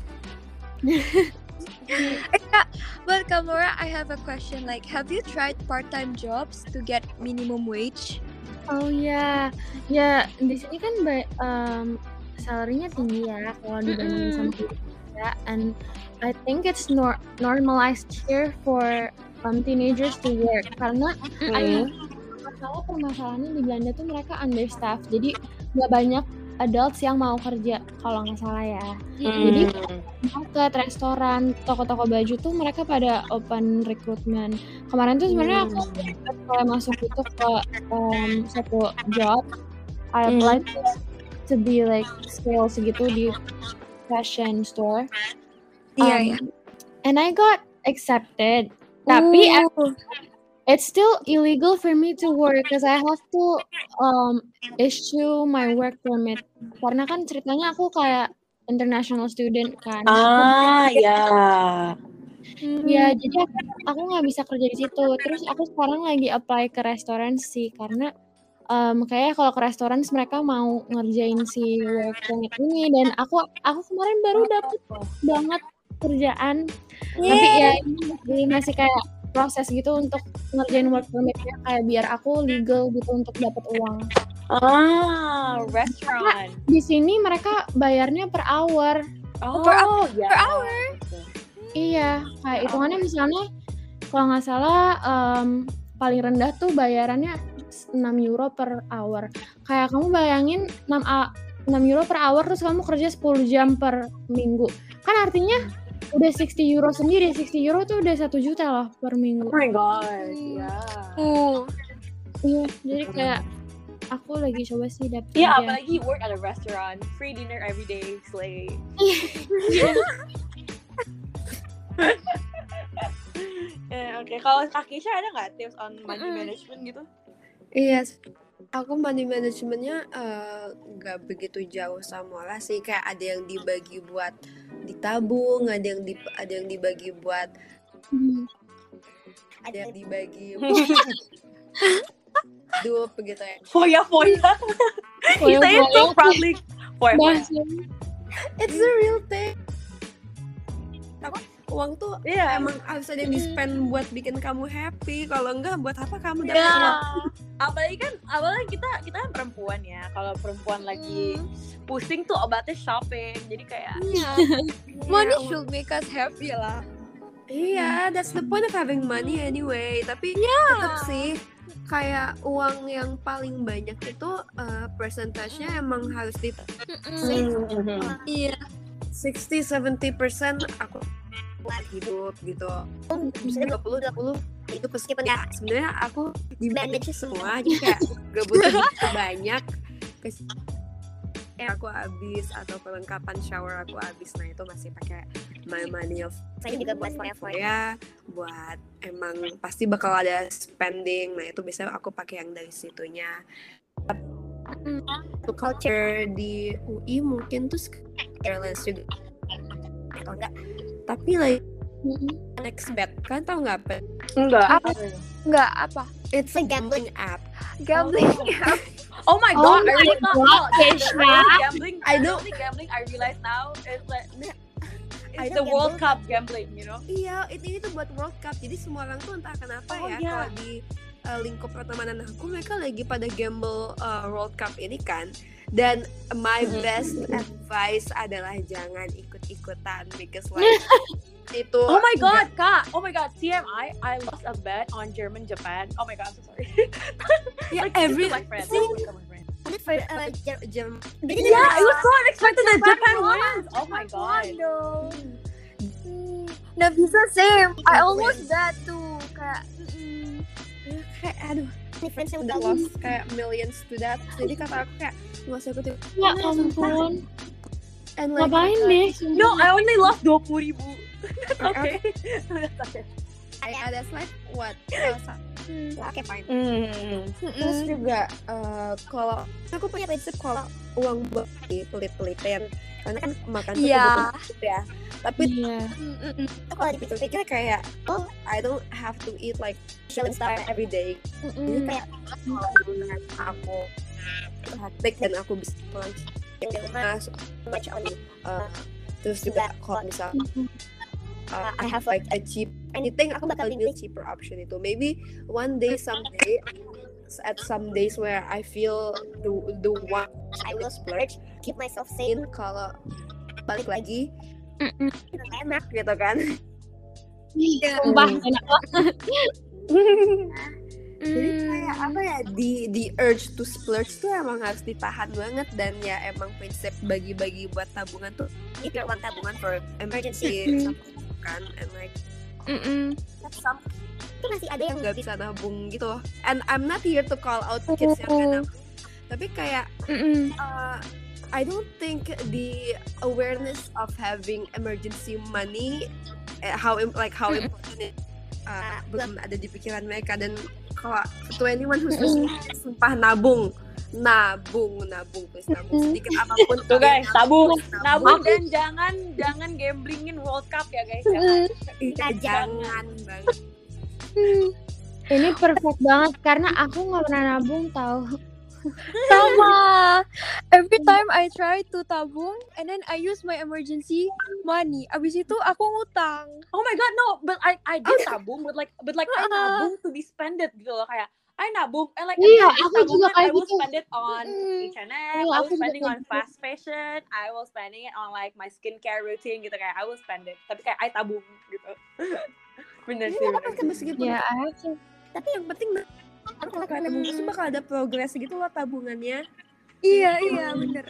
Kak, but Kamora, I have a question. Like, have you tried part-time jobs to get minimum wage? Oh ya, ya di sini kan salary-nya tinggi ya kalau dibandingin sama Indonesia, and I think it's normalized here for teenagers to work karena permasalahannya di Belanda tuh mereka understaffed, jadi nggak banyak adults yang mau kerja kalau nggak salah ya. Jadi market, restoran, toko-toko baju tuh mereka pada open recruitment. Kemarin tuh sebenarnya aku kalau masuk itu ke satu job, I applied to be like sales gitu di fashion store. Iya, And I got accepted. Tapi it's still illegal for me to work because I have to issue my work permit. Karena kan ceritanya aku kayak international student kan. Ya. Ya, jadi aku nggak bisa kerja di situ. Terus aku sekarang lagi apply ke restoran sih karena kayaknya kalau ke restoran mereka mau ngerjain si work permit ini, dan aku kemarin baru dapet banget kerjaan. Tapi ya ini masih kayak proses gitu untuk ngerjain work permitnya, kayak biar aku legal gitu untuk dapat uang. Restaurant. Di sini mereka bayarnya per hour. per hour. Iya, kayak hitungannya misalnya kalau nggak salah paling rendah tuh bayarannya 6 euro per hour. Kayak kamu bayangin 6 euro per hour terus kamu kerja 10 jam per minggu. Kan artinya udah 60 euro sendiri. 60 euro tuh udah 1 juta loh per minggu. Oh my god. Yeah. Iya, jadi kayak aku lagi coba sih dapet Iya, kerja. apalagi work at a restaurant, free dinner every day, slay. Oke, kalau Kak Kisha ada nggak tips on money management gitu? Iya, aku money managementnya nggak begitu jauh sama lah sih. Kayak ada yang dibagi buat ditabung, ada yang dibagi buat ada yang dibagi hidup begitu ya. Foya. You say it so proudly. Foya. It's a real thing. Uang tuh emang harus ada yang di-spend buat bikin kamu happy. Kalau enggak, buat apa kamu dapat uang? Apalagi kita kan perempuan ya. Kalau perempuan lagi pusing tuh obatnya shopping. Jadi kayak Money should make us happy lah. Iya, that's the point of having money anyway. Tapi tetap sih kayak uang yang paling banyak itu persentasenya emang harus di Iya. 60-70% aku buat hidup gitu. Misalnya 20 itu meskipun ya sebenarnya aku di manage semua, jadi kayak gak butuh banyak. Aku habis atau perlengkapan shower aku habis, nah itu masih pakai my money of saya juga buat ya, buat emang pasti bakal ada spending, nah itu biasanya aku pakai yang dari situnya. Culture di UI mungkin tuh airlines juga atau enggak, tapi like Nextbet kan tau nggak apa? Enggak apa? It's a gambling app. Gambling. Oh my god, I really thought gambling. I know. Gambling. I realize now it's like It's the World Cup gambling, you know? Iya, ini tuh buat World Cup. Jadi semua orang tuh entah kenapa kalau di lingkup pertemanan aku, mereka lagi pada gamble World Cup ini kan. Dan my best advice adalah jangan ikut-ikutan because like itu. Oh my god, Kak. Oh my god, TMI, I lost a bet on Japan. Oh my god, I'm so sorry. Yeah, like, every like friends. Yeah, it was so unexpected that Japan wins. Oh my god. Nggak bisa same. I almost that too. Kayak kayak aduh, ini friends-nya udah lost kayak millions to that. Jadi kata aku kayak nggak usah ikutin. Ya ampun. And like, Ngapain deh? No, I only lost 20,000. That's okay. That's okay. That's like what? Oke, fine. Terus Mm. juga kalau aku punya prinsip kalau uang buat pelit-pelitin karena kan makan tuh Iya. kebutuhan ya. Tapi Iya. kalau dipikir-pikir kayak I don't have to eat like Michelin star every day. Jadi kayak kalau aku hektik dan aku bisa pulang yang di rumah macam terus juga kalau misal I have like a cheap anything, aku bakal pilih cheaper option itu. Maybe one day, someday, at some days where I feel the one I will splurge, keep myself sane. Kalau balik lagi enak gitu kan. Sumpah enak banget. Jadi kayak apa ya, the urge to splurge tuh emang harus ditahan banget. Dan ya emang prinsip bagi-bagi buat tabungan tuh, keep your one tabungan for emergency kan. And like some itu masih ada yang nggak bisa nabung gitu. And I'm not here to call out kids yang nggak nabung, tapi kayak I don't think the awareness of having emergency money how important it belum ada di pikiran mereka. Dan kalau to anyone who's listening, sumpah nabung please, nabung sedikit apapun. Tuh guys, tabung nabung. dan jangan gamblingin World Cup ya guys. Jangan banget. Ini perfect banget karena aku nggak pernah nabung tahu. Sama. Every time I try to tabung and then I use my emergency money. Abis itu aku ngutang. Oh my god, no, but I did tabung, but like I nabung to be spended gitu loh, kayak I nabung and like Iya, every aku juga tabungan, kayak I will gitu. spend it on H&M, I Iya, will aku juga spending kayak on gitu. fast fashion, I will spending it on like my skincare routine gitu, kayak I will spend it, tapi kayak I tabung gitu. Bener sih. Meskipun Ya, aku tapi yang penting kalau tabung itu bakal ada progres gitu loh tabungannya. Iya, bener.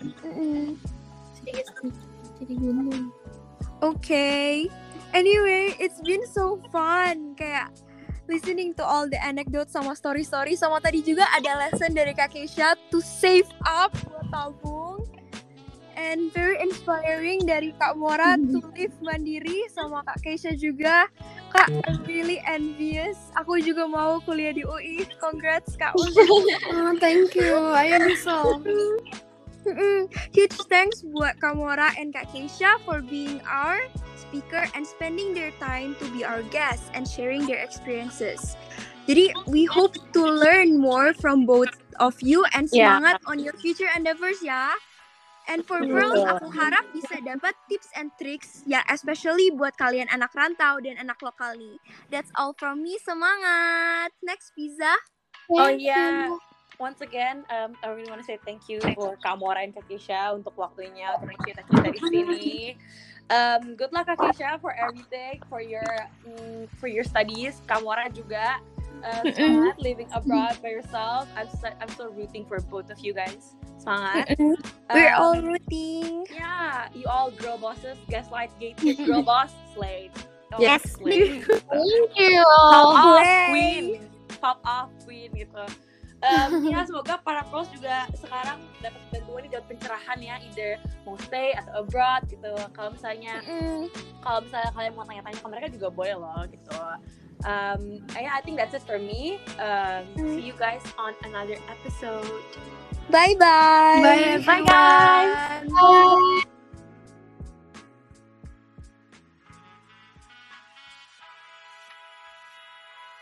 jadi gini. Okay. Anyway, it's been so fun. Kayak listening to all the anecdotes sama story-story. Sama tadi juga ada lesson dari Kak Keisha to save up buat tabung. And very inspiring dari Kak Mora to live mandiri. Sama Kak Keisha juga. Kak, I'm really envious. Aku juga mau kuliah di UI. Congrats Kak. Oh, thank you. I am so. Huge thanks buat Kak Mora and Kak Keisha for being our speaker and spending their time to be our guests and sharing their experiences. Jadi we hope to learn more from both of you and semangat on your future endeavors ya. And for girls, aku harap bisa dapat tips and tricks ya, especially buat kalian anak rantau dan anak lokal nih. That's all from me, semangat. Next, Pizza. Oh yeah. Once again, I really want to say thank you for Kak Mora and Kak Keisha untuk waktunya untuk cerita-cerita di sini. Good luck Kak Keisha for everything, for your studies. Kak Mora juga semangat living abroad by yourself. I'm so rooting for both of you guys. Semangat. We're all rooting. Yeah, you all girl bosses, gaslight, gatekeep, girl boss, slay. Oh, Yes. slay. Thank you. Pop off queen gitu. Ya semoga para pros juga sekarang dapat bantuan nih, dapat pencerahan ya, either mau stay atau abroad gitu. Kalau misalnya kalian mau tanya-tanya ke mereka juga boleh loh gitu. I think that's it for me. See you guys on another episode. Bye-bye. Bye, Bye guys. Bye.